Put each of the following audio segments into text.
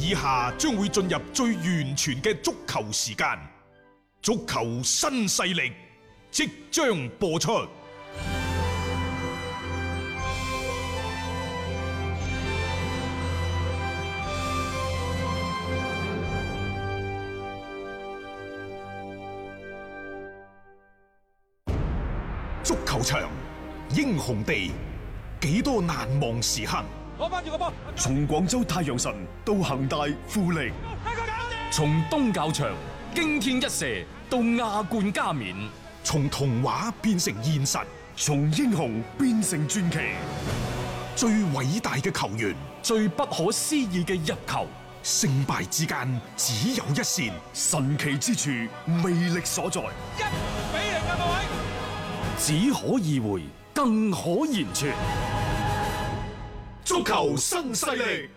以下將會進入最完全嘅足球時間，足球新勢力即將播出。足球場，英雄地，幾多難忘時刻。 攞翻住個波， 從廣州太陽神到恒大富力， 從東較場驚天一射到亞冠加冕， 從童話變成現實， 從英雄變成傳奇。 最偉大嘅球員， 最不可思議嘅入球， 勝敗之間只有一線， 神奇之處魅力所在。 一比零啊，各位！ 只可意會，更可言傳。 足球新勢力，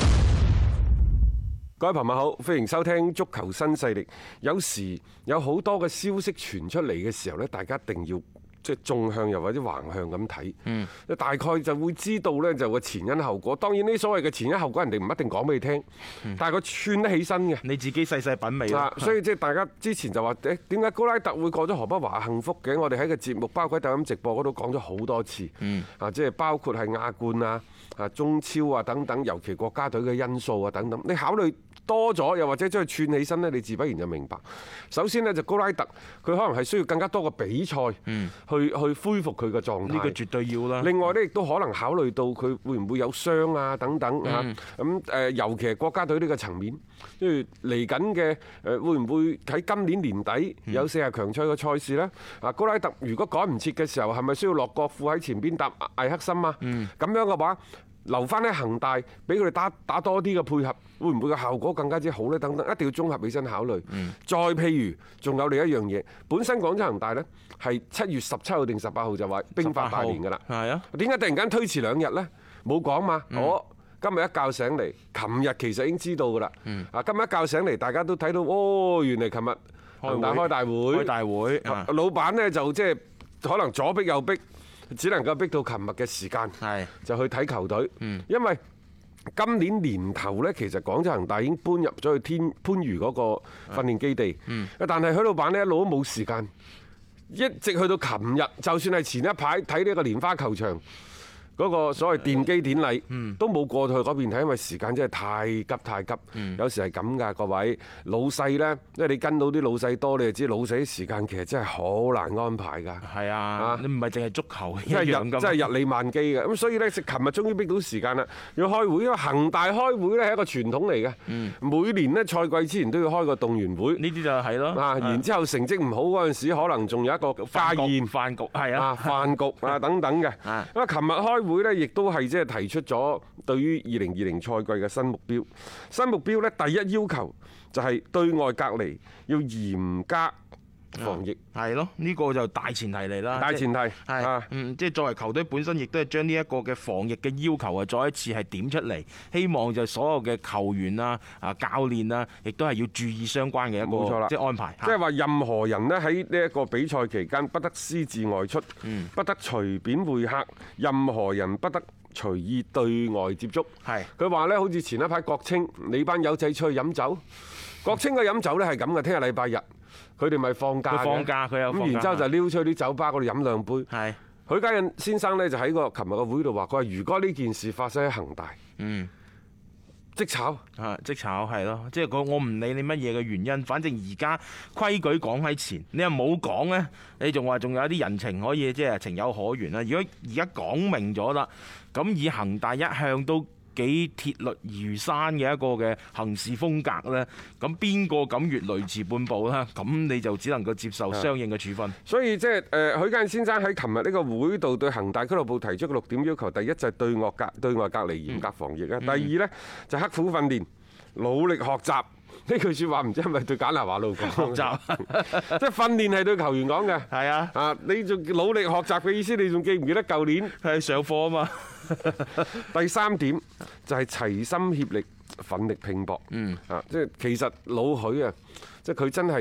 各位朋友好，歡迎收聽足球新勢力。有時有好多嘅消息傳出嚟嘅時候咧，大家一定要即係縱向又或者橫向咁睇。大概就會知道呢就個前因後果。當然呢所謂嘅前因後果，人哋唔一定講俾你聽，但係佢串得起身嘅。 你自己細細品味啦。 所以即係大家之前就話點解高拉特會過咗河北華幸福嘅？我哋喺個節目包括喺抖音直播嗰度講咗好多次。即係包括係亞冠啊、中超啊等等，尤其國家隊嘅因素啊等等，你考慮多咗，又或者將佢串起身呢，你自不然就明白。首先呢，就高拉特，佢可能係需要更加多嘅比賽去恢復佢嘅狀態。 呢個絕對要啦。 另外呢，亦都可能考慮到佢會唔會有傷啊等等啊。咁尤其係國家隊呢個層面，跟住嚟緊嘅會唔會喺今年年底有40強賽嘅賽事呢？高拉特如果趕唔切嘅時候，係咪需要洛國富喺前邊搭艾克森啊？咁樣嘅話，留翻喺恒大，俾佢哋打多啲嘅配合，會唔會個效果更加之好呢？等等，一定要綜合起身考慮。再譬如，仲有另一樣嘢，本身廣州恒大呢係7月17號定18號就話兵發大連㗎啦。係啊，點解突然間推遲2日呢？冇講嘛。我今日一覺醒嚟，琴日其實已經知道㗎啦。今日一覺醒嚟，大家都睇到，哦，原嚟琴日恒大開大會。開大會。老闆呢就即係可能左逼右逼。只能夠逼到琴日嘅時間，就去睇球隊。因為今年年頭呢，其實廣州恒大已經搬入咗去番禺嗰個訓練基地。但係許老闆呢一路都冇時間，一直去到琴日，就算係前一排睇呢個蓮花球場嗰個所謂奠基典禮，都冇過去嗰邊睇，因為時間真係太急。有時係咁㗎，各位老細呢，因為你跟到啲老細多，你就知老細啲時間其實真係好難安排㗎。 係啊，你唔係淨係足球一真樣㗎， 係日理萬機嘅。咁所以呢，琴日終於逼到時間啦，要開會。因為恒大開會呢係一個傳統嚟嘅，每年呢賽季之前都要開個動員會。呢啲就係咯。 然之後成績唔好嗰陣時，可能仲有一個家宴、 飯局係啊、 飯局啊等等嘅。咁啊，琴日開會呢，亦都係即係提出咗對於2020賽季嘅新目標。新目標呢，第一要求就係對外隔離要嚴加防疫。 係咯，呢個就大前提嚟啦。 大前提係即係作為球隊本身，亦都係將呢一個嘅防疫嘅要求啊，再一次係點出嚟。希望就所有嘅球員啊、教練啊，亦都係要注意相關嘅一個冇錯啦， 即係安排。 即係話任何人呢喺呢一個比賽期間不得私自外出，不得隨便會客，任何人不得隨意對外接觸。係佢話呢，好似前一排國慶，你班友仔出去飲酒，國慶嘅飲酒呢係咁嘅，聽日禮拜日。佢哋咪放假嘅，咁然之後就撩出去啲酒吧嗰度飲兩杯。係許家印先生呢，就喺個琴日嘅會度話：佢話如果呢件事發生喺恒大，即炒即炒係咯，即係我唔理你乜嘢嘅原因，反正而家規矩講喺前，你又冇講呢，你仲話仲有啲人情可以即係情有可原啦。如果而家講明咗啦，咁以恒大一向都幾鐵律如山嘅一個嘅行事風格呢，咁邊個敢越雷池半步啦？咁你就只能夠接受相應嘅處分。 所以即係許家印先生喺琴日呢個會度對恒大俱樂部提出嘅6點要求，第一就係對外隔離嚴格防疫啊，第二呢就刻苦訓練、努力學習。呢句説話唔知係咪對簡拿華路講？學習即係訓練係對球員講嘅。係啊，你仲努力學習嘅意思，你仲記唔記得舊年係上課啊嘛？ 第3點就係齊心協力、奮力拼搏。即係其實老許啊，即係佢真係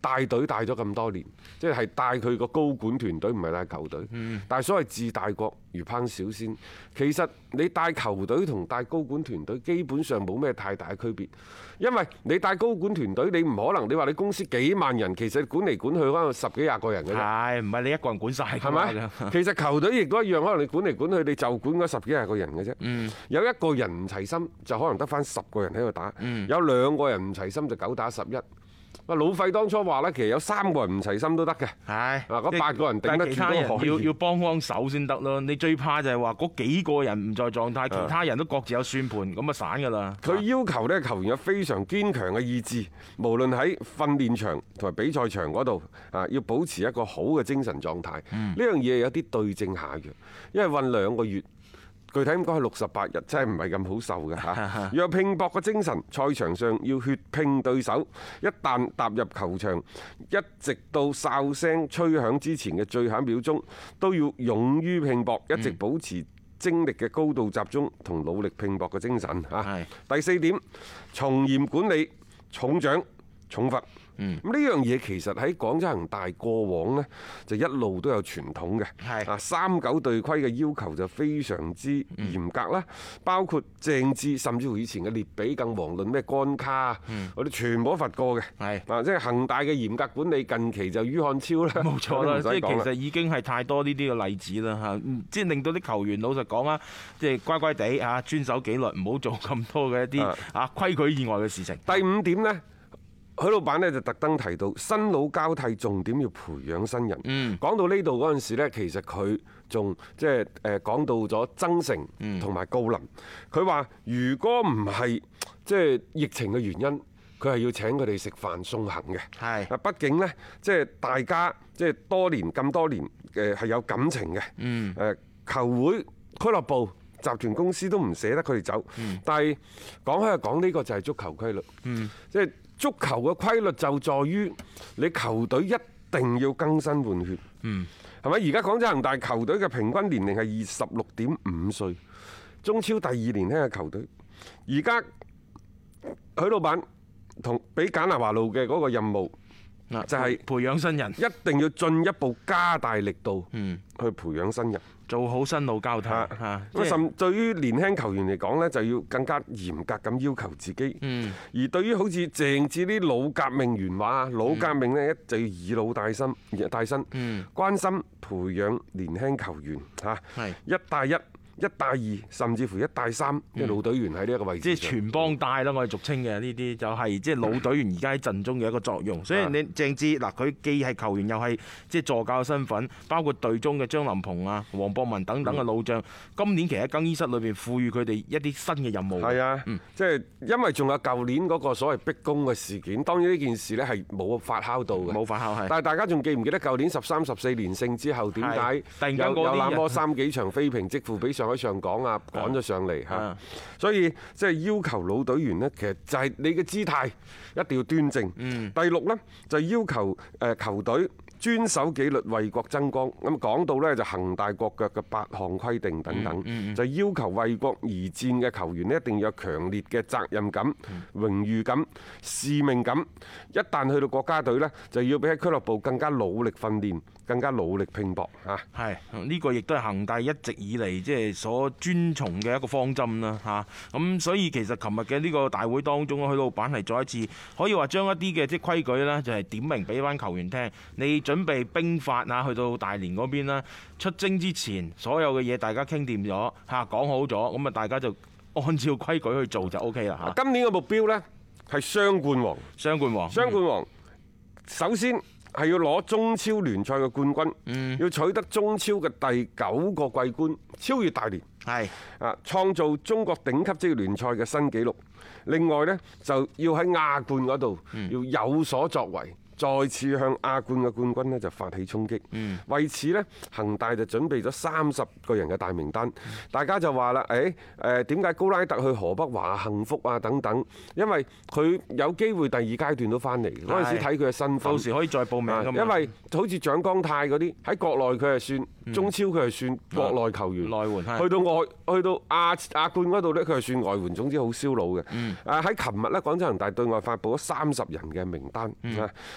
帶隊帶咗咁多年，即係帶佢個高管團隊，唔係帶球隊。但係所謂治大國如烹小鮮，其實你帶球隊同帶高管團隊基本上冇咩太大嘅區別，因為你帶高管團隊，你唔可能你話你公司幾萬人，其實管嚟管去可能10幾20個人嘅啫。 係，唔係你一個人管晒㗎係嘛？ 咪？其實球隊亦都一樣，可能你管嚟管去，你就管嗰10幾20個人嘅啫。有一個人唔齊心，就可能得翻10個人喺度打；有2個人唔齊心，就9打11。老費當初話咧，其實有3個人唔齊心都得嘅。 係嗰8個人頂得住其他人都可以要幫手先得咯。你最怕就係話嗰幾個人唔在狀態，其他人都各自有算盤，咁啊散㗎啦。 佢要求咧球員有非常堅強嘅意志，無論喺訓練場同埋比賽場嗰度啊，要保持一個好嘅精神狀態。呢樣嘢有啲對症下藥，因為韞2個月。具體咁講係68日，真係唔係咁好受嘅嚇。要有拼搏嘅精神，賽場上要血拼對手。一旦踏入球場，一直到哨聲吹響之前嘅最後1秒鐘，都要勇於拼搏，一直保持精力嘅高度集中同努力拼搏嘅精神嚇。第4點，從嚴管理，重獎重罰。咁呢樣嘢其實喺廣州恒大過往呢，就一路都有傳統嘅。39隊規嘅要求就非常之嚴格啦，包括鄭智甚至乎以前嘅列比更遑論咩干卡啊，嗰啲全部都罰過嘅。即係恒大嘅嚴格管理，近期就于漢超啦。 冇錯啦，即係其實已經係太多呢啲嘅例子啦嚇，即係令到啲球員老實講啊，即係乖乖地嚇遵守紀律，唔好做咁多嘅一啲規矩以外嘅事情。 第5點呢，許老闆呢就特登提到新老交替，重點要培養新人。講到呢度嗰陣時呢，其實佢仲即係講到咗曾誠同埋郜林。佢話如果唔係即係疫情嘅原因，佢係要請佢哋食飯送行嘅。係，畢竟呢，即係大家即係咁多年係有感情嘅。球會、俱樂部、集團公司都唔捨得佢哋走。但係講開又講，呢個就係足球規律。即係足球嘅規律就在於你球隊一定要更新換血，係咪？而家廣州恒大球隊嘅平均年齡係26.5歲，中超第2年輕嘅球隊。而家許老闆同俾簡拿華路嘅嗰個任務就係培養新人， 一定要進一步加大力度去培養新人。 做好新老交替。 甚對於年輕球員嚟講呢，就要更加嚴格咁要求自己。而對於好似鄭智啲老革命元話，老革命呢，就要以老帶新，關心培養年輕球員嚇，一帶一。1帶2，甚至乎1帶3嘅老隊員喺呢一個位置， 即係全幫帶啦，我哋俗稱嘅呢啲就係即係老隊員而家喺陣中嘅一個作用。所以你鄭智嗱，佢既係球員又係即係助教嘅身份，包括隊中嘅張林鵬啊、黃博文等等嘅老將，今年其實喺更衣室裏邊賦予佢哋一啲新嘅任務。係啊， 即係因為仲有舊年嗰個所謂逼宮嘅事件，當然呢件事呢係冇發酵到嘅， 冇發酵係。 但係大家仲記唔記得舊年13、14連勝之後點解有那麼3幾場非平即負比上海上港啊趕咗上嚟嚇？所以即係要求老隊員呢，其實就係你嘅姿態一定要端正。第6呢，就要求球隊遵守紀律，為國爭光。咁講到呢，就恒大國腳嘅8項規定等等，就要求為國而戰嘅球員呢，一定要有強烈嘅責任感、榮譽感、使命感。一旦去到國家隊呢，就要比喺俱樂部更加努力訓練，更加努力拼搏嚇。係呢個亦都係恒大一直以嚟即係所遵從嘅一個方針啦嚇。咁所以其實琴日嘅呢個大會當中，許老闆係再一次可以話將一啲嘅即係規矩呢，就係點明俾翻球員聽。你準備兵法啊，去到大連嗰邊啦，出征之前所有嘅嘢大家傾掂咗嚇，講好咗，咁啊大家就按照規矩去做就 O K 啦嚇。今年嘅目標呢，係雙冠王。雙冠王首先係要攞中超聯賽嘅冠軍，要取得中超嘅第9個季軍，超越大連，係啊，創造中國頂級職業聯賽嘅新紀錄。另外呢，就要喺亞冠嗰度要有所作為。再次向亞冠嘅冠軍呢就發起衝擊。為此呢，恒大就準備咗30個人嘅大名單。大家就話啦，點解高拉特去河北華幸福啊等等？因為佢有機會第2階段都翻嚟，嗰陣時睇佢嘅身份，到時可以再報名㗎嘛。因為好似蔣光太嗰啲喺國內佢係算中超，佢係算國內球員，內援去到亞冠嗰度呢，佢係算外援。總之好燒腦嘅。喺琴日呢，廣州恒大對外發布咗30人嘅名單。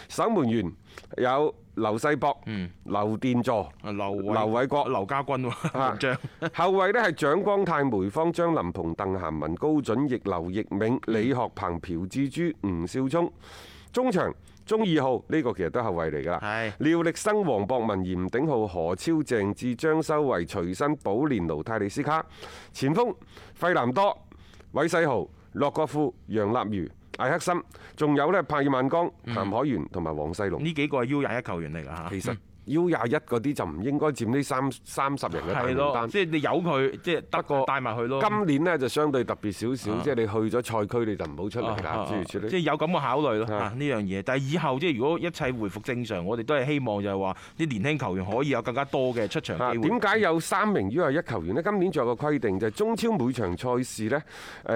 守門員有劉世博、劉殿座、 劉偉國、 劉家軍喎，門將。 後衞呢係蔣光泰、梅芳、張林鵬、鄧涵文、高準翼、劉奕銘、李學鵬、朴志洙、吳少聰。中場中2號呢個其實都係後衞嚟㗎啦， 係廖力生、黃博文、嚴鼎皓、何超、鄭智、張修維、徐新、保連奴、泰利斯卡。前鋒費南多、韋世豪、洛國富、楊立瑜、艾克森，仲有呢帕爾曼江、譚海源同埋黃世龍。 呢幾個係 U21球員嚟㗎嚇。 其實 U21嗰啲就唔應該佔呢30人嘅大名係咯， 單。 即係你由佢，即係得個帶埋去咯。 今年呢就相對特別少少，即係你去咗賽區你就唔好出嚟啦，諸如此類。 即係有咁嘅考慮咯呢樣嘢。但係以後即係如果一切回復正常，我哋都係希望就係話啲年輕球員可以有更加多嘅出場機會。 點解有3名 U21球員呢？今年仲有個規定就係中超每場賽事呢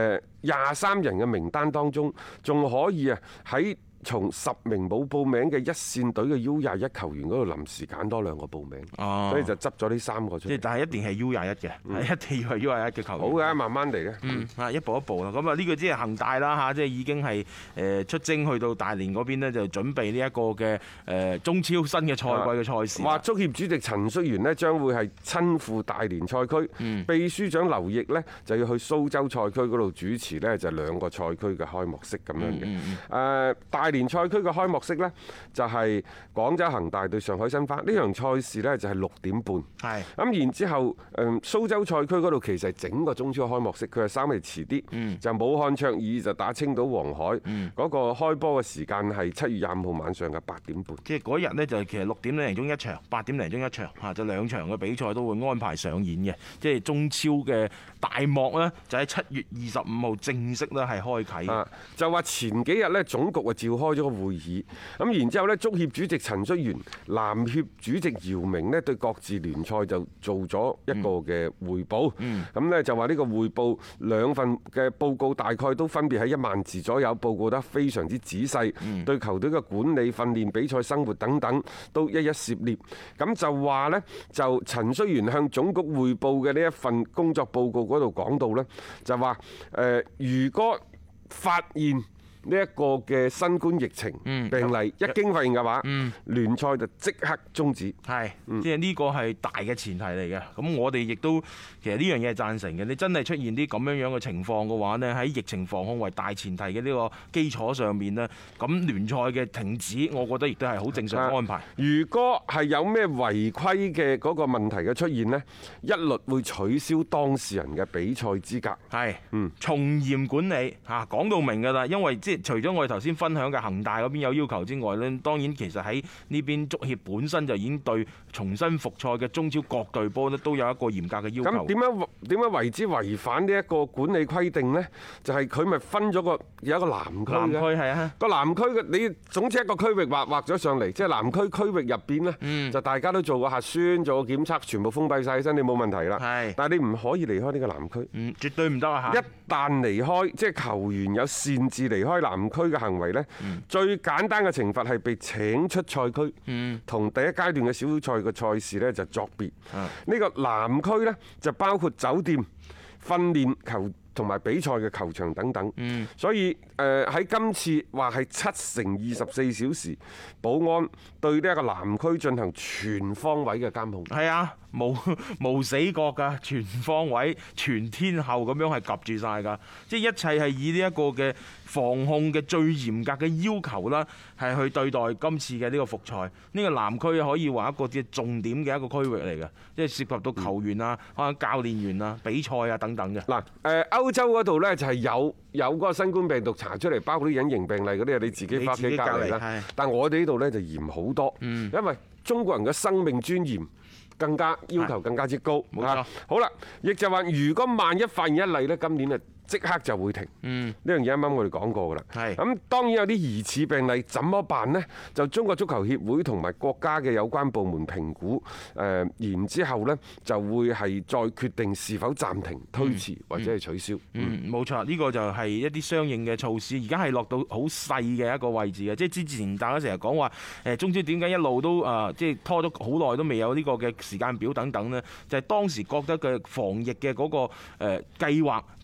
，23人嘅名單當中仲可以喺從10名冇報名嘅一線隊嘅 U21球員嗰度臨時揀多2個報名，所以就執咗呢3個出嚟。 即係但係一定係 U21嘅，一定要係 U21嘅球員。 好嘅，慢慢嚟嘅。 一步一步啦。咁啊，呢個即係恒大啦嚇，即係已經係出征去到大連嗰邊呢，就準備呢一個嘅中超新嘅賽季嘅賽事。 話足協主席陳戌源呢將會係親赴大連賽區，秘書長劉奕呢就要去蘇州賽區嗰度主持呢，就2個賽區嘅開幕式咁樣嘅。大連賽區嘅開幕式呢，就係廣州恒大對上海申花，呢場賽事呢，就係6點半。 係咁然之後，蘇州賽區嗰度其實係整個中超開幕式，佢係稍微遲啲，就武漢卓爾就打青島黃海，嗰個開波嘅時間係7月25號晚上嘅8點半。 即係嗰日呢，就其實6點零鐘一場，8點零鐘一場嚇，就2場嘅比賽都會安排上演嘅。即係中超嘅大幕呢，就喺7月25號正式咧係開啓。 就話前幾日呢，總局啊召開咗個會議，咁然之後呢，足協主席陳戌源、籃協主席姚明呢，對各自聯賽就做咗一個嘅匯報。咁呢，就話呢個匯報2份嘅報告大概都分別喺1萬字左右，報告得非常之仔細，對球隊嘅管理、訓練、比賽、生活等等都一一涉獵。咁就話呢，就陳戌源向總局匯報嘅呢一份工作報告嗰度講到呢，就話如果發現呢一個嘅新冠疫情病例一經發現嘅話，聯賽就即刻終止。 係，即係呢個係大嘅前提嚟嘅。咁我哋亦都其實呢樣嘢係贊成嘅。你真係出現啲咁樣樣嘅情況嘅話呢，喺疫情防控為大前提嘅呢個基礎上面呢，咁聯賽嘅停止，我覺得亦都係好正常嘅安排。 如果係有咩違規嘅嗰個問題嘅出現呢，一律會取消當事人嘅比賽資格。 係，從嚴管理嚇，講到明㗎啦。因為即除咗我哋頭先分享嘅恒大嗰邊有要求之外呢，當然其實喺呢邊足協本身就已經對重新復賽嘅中超各隊波呢都有一個嚴格嘅要求。 咁點樣為之違反呢一個管理規定呢？就係佢咪分咗有一個南區嘅。南區係啊。個南區嘅你總之一個區域劃咗上嚟，即係南區區域入邊呢，就大家都做過核酸、做過檢測，全部封閉晒身，你冇問題啦。 係。但係你唔可以離開呢個南區。 絕對唔得啊！ 一旦離開，即係球員有擅自離開南區嘅行為呢，最簡單嘅懲罰係被請出賽區，同第一階段嘅小賽嘅賽事呢就作別。呢個南區呢，就包括酒店、訓練球同埋比賽嘅球場等等。所以喺今次話係7乘24小時保安對呢一個南區進行全方位嘅監控。 係啊，無死角㗎，全方位、全天候咁樣係夾住晒㗎。即係一切係以呢一個嘅防控嘅最嚴格嘅要求啦，係去對待今次嘅呢個復賽。呢個南區可以話一個嘅重點嘅一個區域嚟嘅，即係涉及到球員啊、可能教練員啊、比賽啊等等嘅。 嗱，歐洲嗰度呢，就係有嗰個新冠病毒查出嚟，包括啲隱形病例嗰啲，你自己翻屋企隔離啦。但我哋呢度呢，就嚴好多，因為中國人嘅生命尊嚴更加要求更加之高。 冇錯。 好啦，亦就話如果萬一發現一例呢，今年啊即刻就會停。呢樣嘢啱啱我哋講過㗎啦。 係。咁當然有啲疑似病例，怎麼辦呢？就中國足球協會同埋國家嘅有關部門評估，然之後呢就會係再決定是否暫停、推遲或者係取消。 冇錯，呢個就係一啲相應嘅措施。而家係落到好細嘅一個位置嘅，即係之前大家成日講話中超點解一路都即係拖咗好耐都未有呢個嘅時間表等等呢？就係當時覺得嘅防疫嘅嗰個計劃仲未到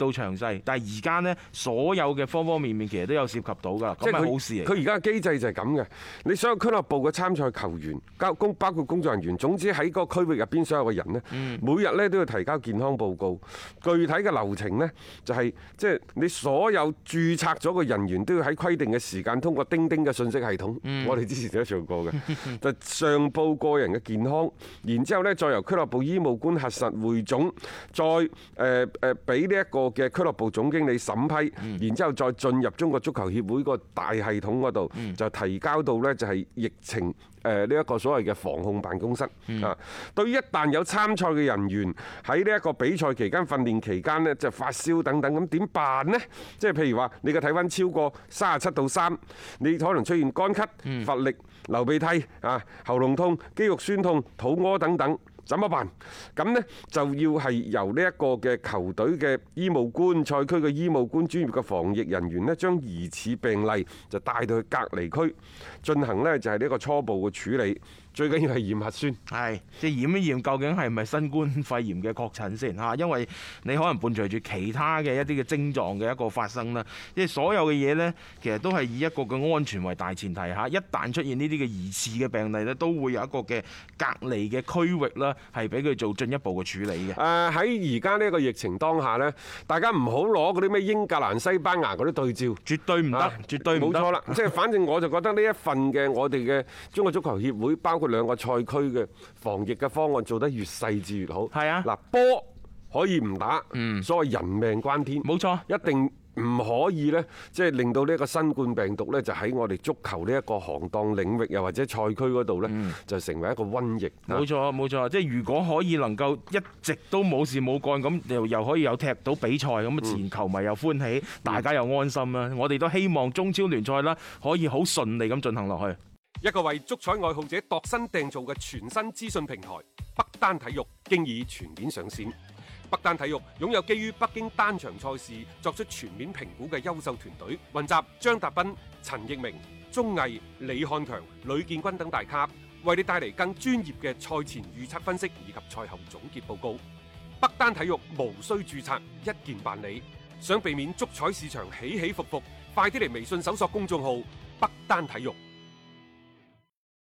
到詳細，但係而家呢，所有嘅方方面面其實都有涉及到㗎，咁係好事嚟。 佢而家嘅機制就係咁嘅，你所有俱樂部嘅參賽球員、包括工作人員，總之喺嗰個區域入邊所有嘅人呢，每日呢都要提交健康報告。具體嘅流程呢，就係即係你所有註冊咗嘅人員都要喺規定嘅時間通過釘釘嘅信息系統，我哋之前都做過嘅，就上報個人嘅健康，然之後呢，再由俱樂部醫務官核實匯總，再俾呢一個嘅俱樂部總經理審批，然之後再進入中國足球協會個大系統嗰度，就提交到呢就係疫情呢一個所謂嘅防控辦公室啊。對於一旦有參賽嘅人員喺呢一個比賽期間、訓練期間呢，就發燒等等，咁點辦呢？即係譬如話你嘅體溫超過37.3°，你可能出現乾咳、乏力、流鼻涕啊、喉嚨痛、肌肉酸痛、肚屙等等。怎麼辦？咁呢就要係由呢一個嘅球隊嘅醫務官、賽區嘅醫務官、專業嘅防疫人員呢，將疑似病例就帶到去隔離區進行呢就係呢一個初步嘅處理。最緊要係驗核酸， 係即係驗一驗究竟係咪新冠肺炎嘅確診先嚇，因為你可能伴隨住其他嘅一啲嘅症狀嘅一個發生啦。即係所有嘅嘢呢，其實都係以一個嘅安全為大前提嚇。一旦出現呢啲嘅疑似嘅病例呢，都會有一個嘅隔離嘅區域啦，係俾佢做進一步嘅處理嘅。 喺而家呢個疫情當下呢，大家唔好攞嗰啲咩英格蘭、西班牙嗰啲對照， 絕對唔得，絕對唔得。冇錯啦，即係反正我就覺得呢一份嘅我哋嘅中國足球協會包括兩個賽區嘅防疫嘅方案做得越細緻越好。 係啊， 嗱，波可以唔打，所謂人命關天， 冇錯， 一定唔可以呢，即係令到呢一個新冠病毒呢，就喺我哋足球呢一個行當領域又或者賽區嗰度呢，就成為一個瘟疫。 冇錯冇錯，即係如果可以能夠一直都冇事冇幹咁，又可以有踢到比賽咁，前球迷又歡喜，大家又安心啦。我哋都希望中超聯賽啦可以好順利咁進行落去。 一個為足彩愛好者度身訂造嘅全新資訊平台北單體育，經已全面上線。北單體育擁有基於北京單場賽事作出全面評估嘅優秀團隊，雲集張達斌、陳奕明、鐘毅、李漢強、呂建軍等大咖，為你帶嚟更專業嘅賽前預測分析以及賽後總結報告。北單體育無需註冊，一鍵辦理。想避免足彩市場起起伏伏，快啲嚟微信搜索公眾號北單體育。